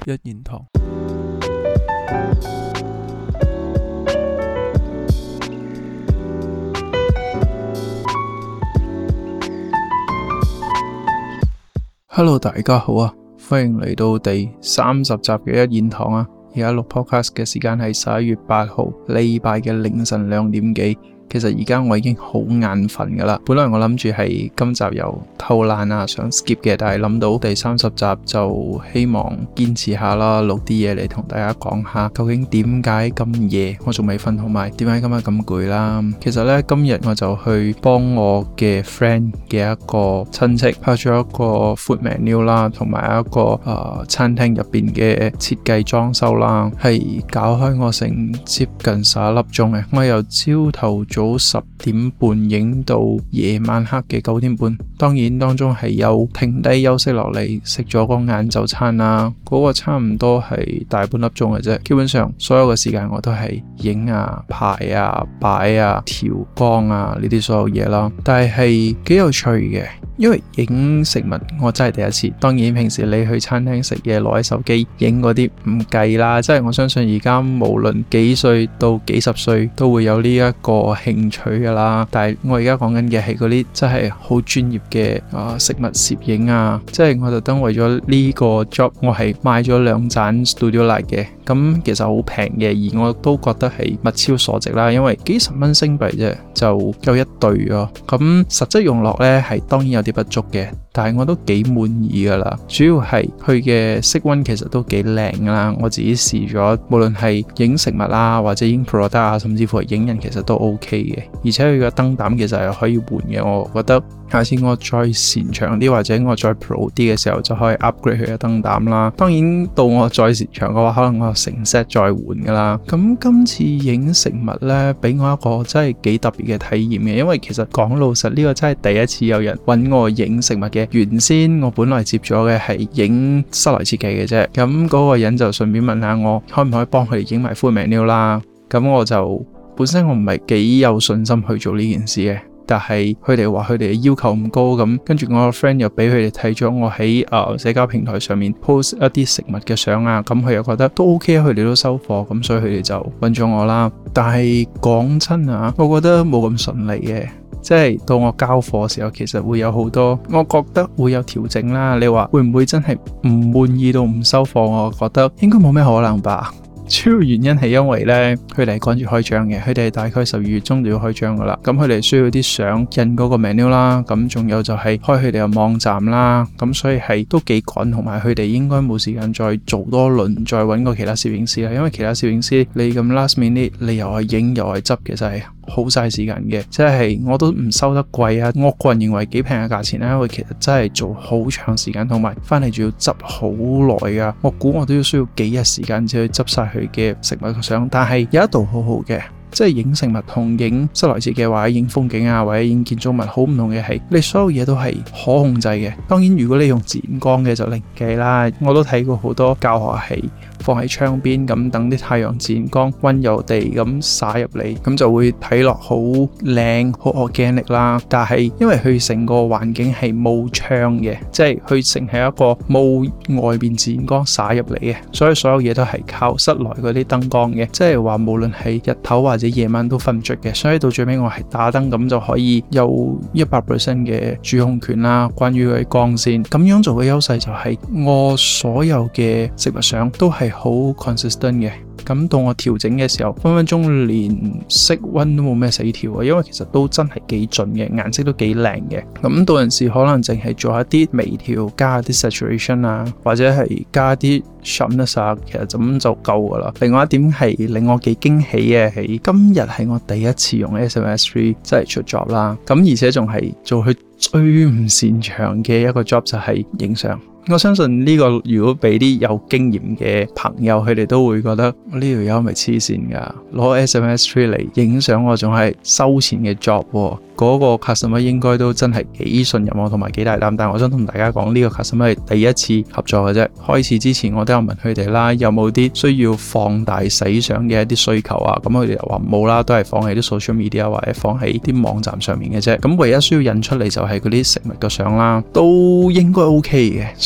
一言堂。Hello， 大家好啊，歡迎嚟到第30集嘅一言堂啊。而家錄 podcast 嘅時間係11月8號，禮拜嘅凌晨2點幾。其實而家我已經好眼瞓噶啦，本來我諗住係今集又偷懶啊，想 skip 嘅，但係諗到第30集就希望堅持下啦，錄啲嘢嚟同大家講下，究竟點解咁夜我仲未瞓，同埋點解今日咁攰啦。其實呢，今日我就去幫我嘅 friend 嘅一個親戚拍咗一個 food menu 啦，同埋一個餐廳入邊嘅設計裝修啦，係搞開我成接近11粒鐘嘅，我由朝頭早10點半影到夜晚黑嘅9點半，當然當中係有停低休息落嚟食咗個晏晝餐啦，嗰個差唔多係大半粒鐘嘅啫。基本上所有嘅時間我都係影啊、排啊、擺啊、調光啊呢啲所有嘢啦，但係幾有趣嘅，因為影食物我真係第一次。當然平時你去餐廳食嘢攞起手機影嗰啲唔計啦，即係我相信而家無論幾歲到幾十歲都會有呢一個興趣噶啦。但係我而家講緊嘅係嗰啲真係好專業嘅食物攝影啊，即係我特登為咗呢個 job 我係買咗2盞 Studio Light 嘅，咁其實好平嘅，而我都覺得係物超所值啦，因為幾十蚊星幣啫就夠一對咯。咁實質用落呢係當然有啲不足嘅，但係我都幾滿意噶啦。主要係佢嘅色溫其實都幾靚啦，我自己試咗，無論係影食物啦，或者影 product 啊，甚至乎係影人，其實都 OK 嘅。而且佢嘅燈膽其實係可以換嘅，我覺得下次我再擅長啲或者我再 pro 啲嘅時候就可以 upgrade 佢嘅燈膽啦。當然到我再擅長嘅話，可能我成 set 再換噶啦。咁今次影食物呢，俾我一個真係幾特別嘅體驗嘅，因為其實講老實呢個真係第一次有人揾我影食物嘅。原先我本來接咗嘅係影室內設計嘅啫，咁嗰個人就順便問下我可唔可以幫佢哋影埋 food menu 啦。咁我就本身我唔係幾有信心去做呢件事嘅，但係佢哋話佢哋嘅要求唔高，咁跟住我個 friend 又俾佢哋睇咗我喺社交平台上面 post 一啲食物嘅相啊，咁佢又覺得都 OK， 佢哋都收貨，咁所以佢哋就揾咗我啦。但係講真啊，我覺得冇咁順利嘅，即係到我交貨嘅時候，其實會有好多，我覺得會有調整啦。你話會唔會真係唔滿意到唔收貨？我覺得應該冇咩可能吧。主要原因係因為呢，佢哋係趕住開張嘅，佢哋係大概12月中就要開張噶啦。咁佢哋需要啲相印嗰個 menu 啦，咁仲有就係開佢哋嘅網站啦。咁所以係都幾趕，同埋佢哋應該冇時間再做多輪，再揾個其他攝影師啦。因為其他攝影師你咁 last minute，你又係影又係執，其實係好嘥時間嘅。即係我都唔收得貴啊，我個人認為幾平嘅價錢啦，因為其實真係做好長時間，同埋翻嚟仲要執好耐噶。我估我都要需要幾日時間先去執晒佢嘅食物嘅相。但係有一度好好嘅，即係影食物同影室內設計或者影風景啊，或者影建築物好唔同嘅係，你所有嘢都係可控制嘅。當然如果你用自然光嘅就另計啦，我都睇過好多教學係放喺窗邊咁，等啲太陽自然光溫柔地咁灑入嚟，咁就會睇落好靚好 organic 啦。但係因為佢成個環境係冇窗嘅，即係佢成係一個冇外邊自然光灑入嚟嘅，所以所有嘢都係靠室內嗰啲燈光嘅，即係話無論係日頭或者夜晚都瞓唔着嘅。所以到最尾我係打燈，咁就可以有 100% 嘅主控權啦。關於佢光線咁樣做嘅優勢就係我所有嘅食物相都係好 consistent 嘅。咁到我調整嘅時候，分分鐘連色溫都冇咩死調啊，因為其實都真係幾準嘅，顏色都幾靚嘅。咁到陣時可能淨係做一啲微調，加一啲 saturation 啊，或者係加啲 sharpness 啊，其實咁就夠噶啦。另外一點係令我幾驚喜嘅係，今日係我第一次用 A7S3 真係出 job 啦。咁而且仲係做佢最唔擅長嘅一個 job， 就係影相。我相信呢個如果俾啲有經驗嘅朋友，佢哋都會覺得呢條友咪黐線噶，攞 A7S3 嚟影相，我仲係收錢嘅 job 喎。嗰個 customer 應該都真係幾信任我同埋幾大膽，但係我想同大家講呢個 customer 係第一次合作嘅啫。開始之前我都有問佢哋啦，有冇啲需要放大洗相嘅一啲需求啊？咁佢哋又話冇啦，都係放喺啲 social media 或者放喺啲網站上面嘅啫。咁唯一需要印出嚟就係嗰啲食物嘅相啦，都應該 OK 嘅。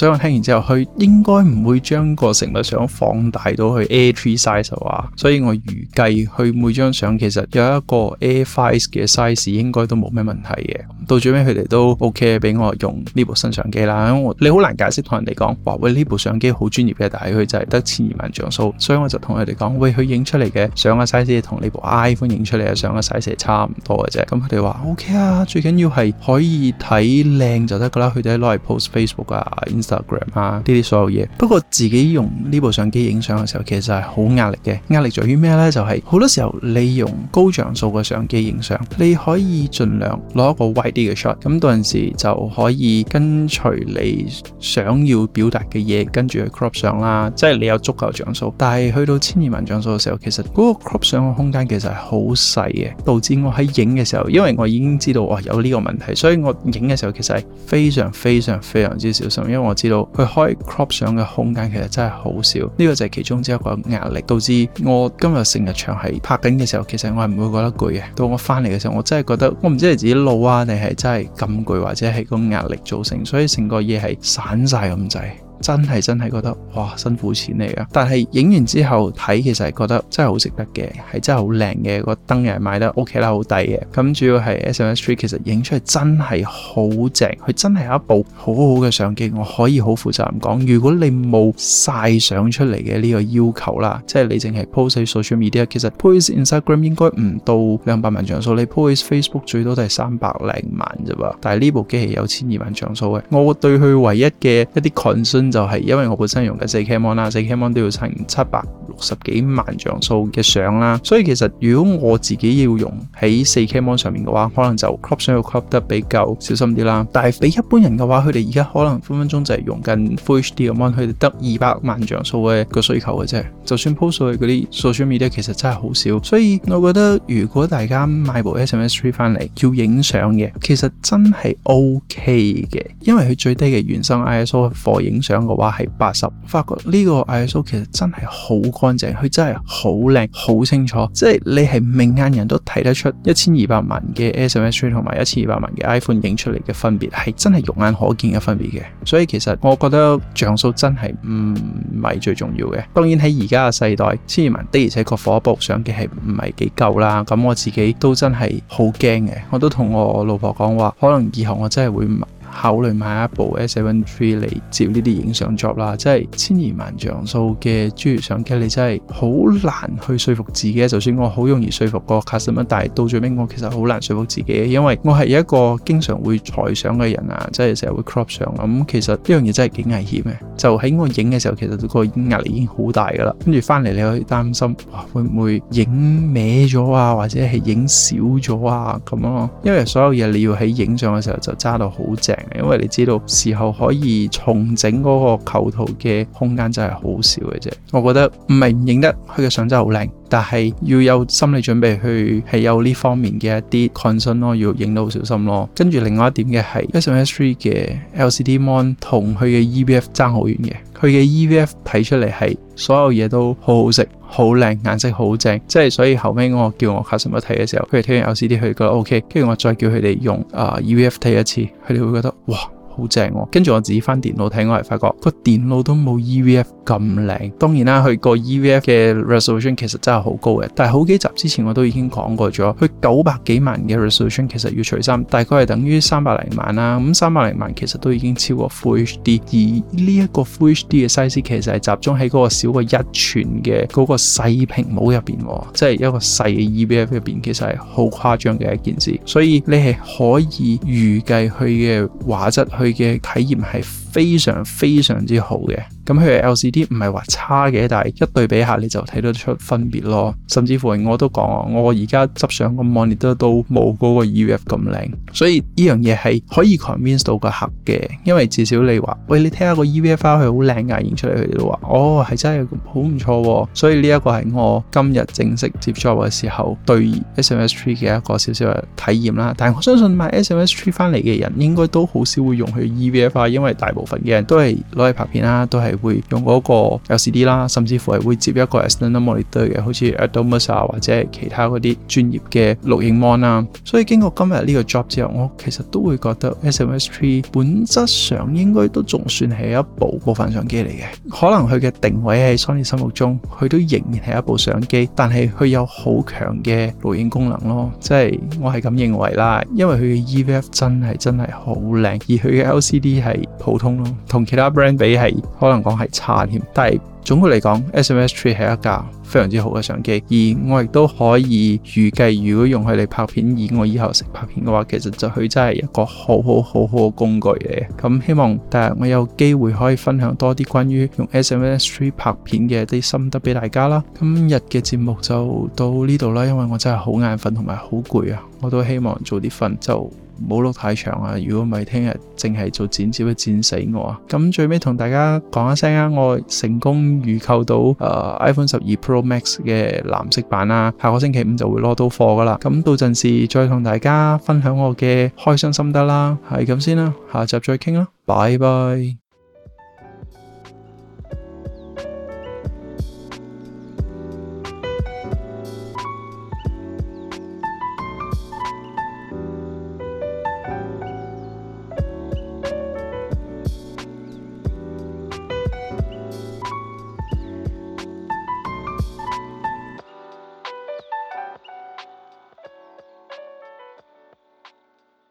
所以我聽完之後，佢應該唔會將個成物相放大到去 A3 size 啊，所以我預計佢每張相其實有一個 A5 嘅 size 應該都冇咩問題嘅。到最尾佢哋都 OK 俾我用呢部新相機啦，因為你好難解釋同人哋講話喂，呢部相機好專業嘅，但係佢就係得12萬像素，所以我就同佢哋講喂，佢影出嚟嘅相嘅 size 同呢部 iPhone 影出嚟嘅相嘅 size 係差唔多嘅啫。咁佢哋話 OK 啊，最緊要係可以睇靚就得噶啦，佢哋攞嚟 post Facebook 啊、Instagram 啊呢啲所有嘢。不過自己用呢部相機影相嘅時候，其實係好壓力嘅。壓力在於咩呢？就係好多時候你用高像素嘅相機影相，你可以盡量攞一個 wide 啲嘅 shot， 咁到陣時就可以跟隨你想要表達嘅嘢，跟住去 crop 相啦，即係你有足夠像素。但係去到1200萬像素嘅時候，其實嗰個 crop 相嘅空間其實係好細嘅，導致我喺影嘅時候，因為我已經知道有呢個問題，所以我影嘅時候其實係非常非常非常之小心，因為我知道佢可以 crop 相嘅空間其實真係好少，呢個就係其中之一個壓力，導致我今日成日長係拍緊嘅時候，其實我係唔會覺得攰嘅。到我翻嚟嘅時候，我真係覺得我唔知係自己老啊，定係真係咁攰，或者係個壓力造成，所以成個嘢係散晒咁滯。真係覺得哇，辛苦錢嚟噶，但係影完之後睇，其實係覺得真係好值得嘅，係真係好靚嘅，個燈又係買得 OK 啦，好抵嘅。咁主要係 A7S III 其實影出嚟真係好正，佢真係有一部好好嘅相機。我可以好負責任講，如果你冇晒相出嚟嘅呢個要求啦，即係你淨係 post 喺 social media， 其實 post Instagram 應該唔到200萬像素，你 post Facebook 最多都係300零萬啫噃。但係呢部機係有1200萬像素嘅，我對佢唯一嘅一啲 concern就係因為我本身用嘅 4K Mon 啦，4K Mon 都要成760幾萬像素嘅相啦，所以其實如果我自己要用喺 4K Mon 上面嘅話，可能就 crop 相要 crop 得比較小心啲啦。但係俾一般人嘅話，佢哋而家可能分分鐘就係用緊 Full HD 嘅 Mon， 佢哋得200萬像素嘅個需求嘅啫。就算 post 去嗰啲 social media 其實真係好少，所以我覺得如果大家買部 A7S III 翻嚟要影相嘅，其實真係 OK 嘅，因為佢最低嘅原生 ISO 貨影相嘅話係80，發覺呢個 ISO 其實真係好乾淨，佢真係好靚好清楚，即係你係明眼人都睇得出1200萬嘅 A7S III 同埋1200萬嘅 iPhone 影出嚟嘅分別係真係肉眼可見嘅分別嘅。所以其實我覺得像素真係唔係最重要嘅。當然喺而家嘅世代，1200萬的而且確火部相機係唔係幾夠啦。咁我自己都真係好驚嘅，我都同我老婆講話，可能以後我真係會考慮買一部 A7 III 嚟接呢啲影相 job 啦。即係1200萬像素嘅專業相機，你真係好難去說服自己。就算我好容易說服個 customer， 但係到最尾我其實好難說服自己，因為我係一個經常會裁相嘅人啊，即係成日會 crop 相。咁其實呢樣嘢真係幾危險嘅。就喺我影嘅時候，其實個壓力已經好大噶啦，跟住翻嚟你可以擔心會唔會影歪咗啊，或者係影少咗啊咁咯。因為所有嘢你要喺影相嘅時候就揸到好正，因為你知道事後可以重整嗰個構圖嘅空間真係好少嘅啫。我覺得唔係唔影得，佢嘅相真係好靚，但係要有心理準備去係有呢方面嘅一啲 concern 咯，要影得好小心咯。跟住另外一點嘅係 A7S III 嘅 LCD Mon 同佢嘅 EVF 爭好遠嘅，佢嘅 EVF 睇出嚟係所有嘢都好好食、好靚、顏色好正，即係所以後尾我叫我 customer 睇嘅時候，佢哋睇完 LCD 佢哋覺得 OK， 跟住我再叫佢哋用EVF 睇一次，佢哋會覺得哇好正喎。跟住我自己翻電腦睇，我係發覺個電腦都冇 EVF 咁靚。當然啦，佢個 EVF 嘅 resolution 其實真係好高嘅，但係好幾集之前我都已經講過咗，佢900幾萬嘅 resolution 其實要除3，大概係等於300零萬啦。咁300零萬其實都已經超過 Full HD， 而呢一個 Full HD 嘅 size 其實係集中喺嗰個少過1寸嘅嗰個細屏幕入邊，即係一個細嘅 EVF 入邊，其實係好誇張嘅一件事。所以你係可以預計佢嘅畫質，佢嘅體驗係非常非常之好嘅。咁佢嘅 LCD 唔係話差嘅，但係一對比下你就睇得出分別咯。甚至乎我都講，我而家執相個 monitor 都冇嗰個 EVF 咁靚，所以呢樣嘢係可以 convince 到個客嘅。因為至少你話，喂，你睇下個 EVF 佢好靚㗎，影出嚟佢哋都話，哦，係真係好唔錯喎。所以呢一個係我今日正式接 job 嘅時候對 A7S III 嘅一個少少嘅體驗啦。但係我相信買 A7S III 翻嚟嘅人應該都好少會用佢 EVF，因為大部分嘅人都係攞嚟拍片啦，都係係會用嗰個 LCD 啦，甚至乎係會接一個 external monitor 嘅，好似 Atomos 啊或者其他嗰啲專業嘅錄影 mon 啦。所以經過今日呢個 job 之後，我其實都會覺得 A7S3 本質上應該都仲算係一部部分相機嚟嘅。可能佢嘅定位喺 Sony 心目中，佢都仍然係一部相機，但係佢有好強嘅錄影功能咯，即係我係咁認為啦。因為佢嘅 EVF 真係好靚，而佢嘅 LCD 係普通咯，同其他 brand 比係可能講係差添。但係總括嚟講 A7S3 係一架非常之好嘅相機，而我亦都可以預計，如果用佢嚟拍片，以我以後識拍片嘅話，其實就佢真係一個好嘅工具嚟嘅。咁希望第日我有機會可以分享多啲關於用 A7S3 拍片嘅一啲心得俾大家啦。今日嘅節目就到呢度啦，因為我真係好眼瞓同埋好攰啊，我都希望早啲瞓，就唔好錄太長啊！如果唔係聽日淨係做剪接，會剪死我啊！咁最尾同大家講一聲啊，我成功預購到iPhone 12 Pro Max 嘅藍色版啦，下個星期5就會攞到貨噶啦。咁到陣時再同大家分享我嘅開箱心得啦，係咁先啦，下集再傾啦，拜拜。